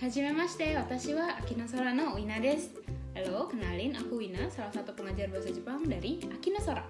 Hajimemashite, watashi wa Akinosora no Wina desu. Halo, kenalin aku Wina, salah satu pengajar bahasa Jepang dari Akinosora.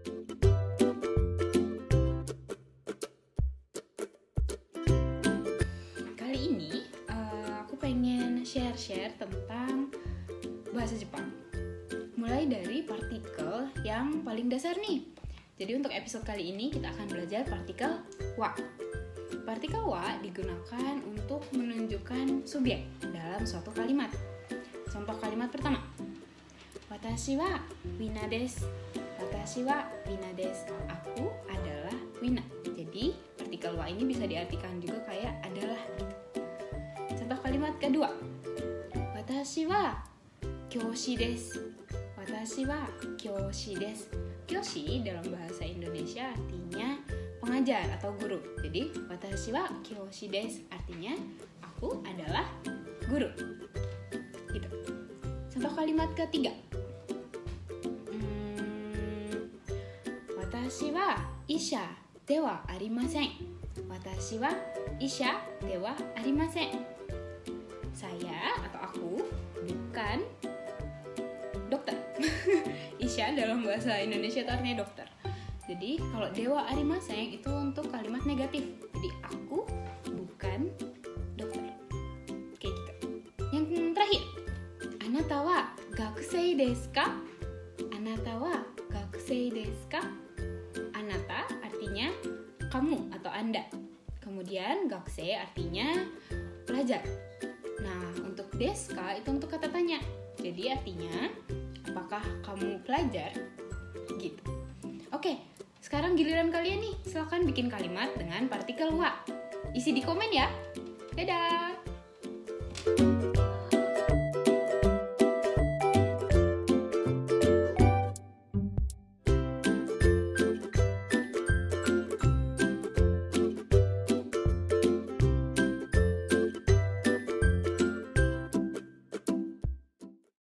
Kali ini aku pengen share tentang bahasa Jepang. Mulai dari partikel yang paling dasar nih. Jadi untuk episode kali ini kita akan belajar partikel wa. Partikel wa digunakan untuk menunjukkan subjek dalam suatu kalimat. Contoh kalimat pertama. Watashi wa Wina desu. Watashi wa Wina desu. Aku adalah Wina. Jadi partikel wa ini bisa diartikan juga kayak adalah. Contoh kalimat kedua. Watashi wa kyoshi desu. Watashi wa kyoshi desu. Kyoshi dalam bahasa Indonesia artinya pengajar atau guru. Jadi watashi wa kyoshi desu artinya aku adalah guru. Gitu. Contoh kalimat ketiga. Watashi wa isha de wa arimasen. Watashi wa isha de wa arimasen. Saya atau aku bukan dokter. Isha dalam bahasa Indonesia itu artinya dokter. Jadi kalau dewa arimasen itu untuk kalimat negatif. Jadi aku bukan dokter. Kayak gitu. Yang terakhir. Anata wa gakusei desu ka? Anata wa gakusei desu ka? Anata artinya kamu atau Anda. Kemudian gakusei artinya pelajar. Nah, untuk desu ka itu untuk kata tanya. Jadi artinya apakah kamu pelajar? Gitu. Oke, sekarang giliran kalian nih. Silakan bikin kalimat dengan partikel wa. Isi di komen ya. Dadah.